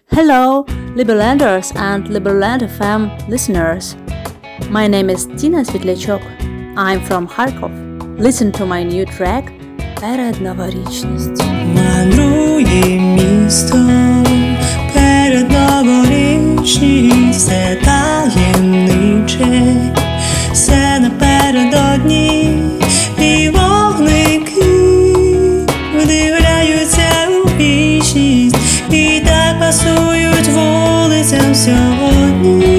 Hello, Liberlanders and Liberland FM listeners. My name is Tina Svitlячок. I'm from Kharkov. Listen to my new track «Передноворічність». Мандрує містом передноворічність, все таємниче, все напередодні, і вогники вдивляються у вічність, і так пасують вулицям сьогодні.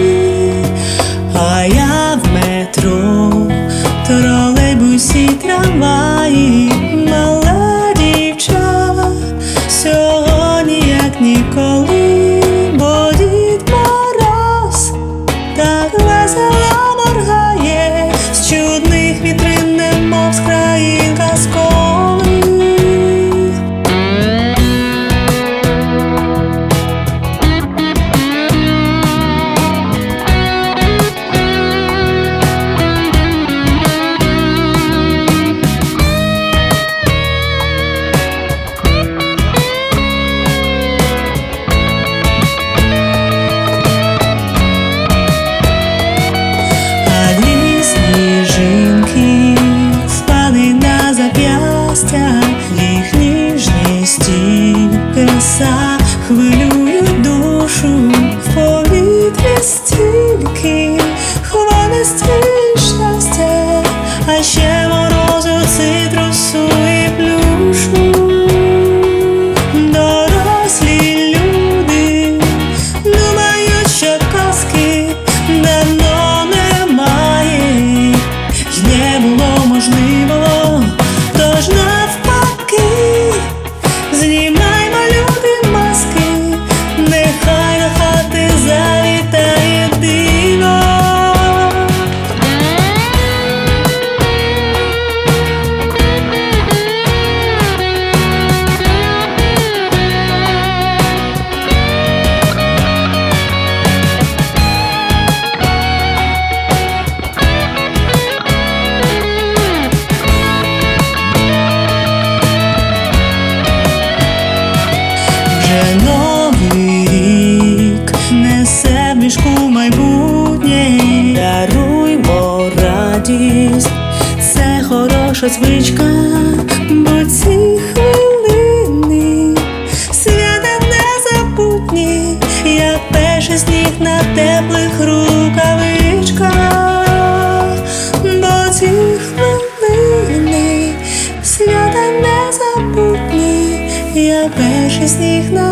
А я в метро, тролейбусі, трамваї, мала дівча, сьогодні як ніколи, бо Дід Мороз так весело моргає, з чудних вітрин, немов з країн казкових. Їх ніжність і краса хвилюють душу, в повітрі стільки хвилинності і щастя, а ще морозу, цитрусу і плюшу. Дорослі люди думають, що казки давно немає, й не було можливо. Тож навпаки, знімаймо, люди, маски, нехай до хати завітає диво. Новий рік несе в мішку майбутнє, даруймо радість, це хороша звичка, бо ці хвилини свята незабутні, як перший сніг на теплих рукавичках, бо ці хвилини свята незабутні, як перший сніг на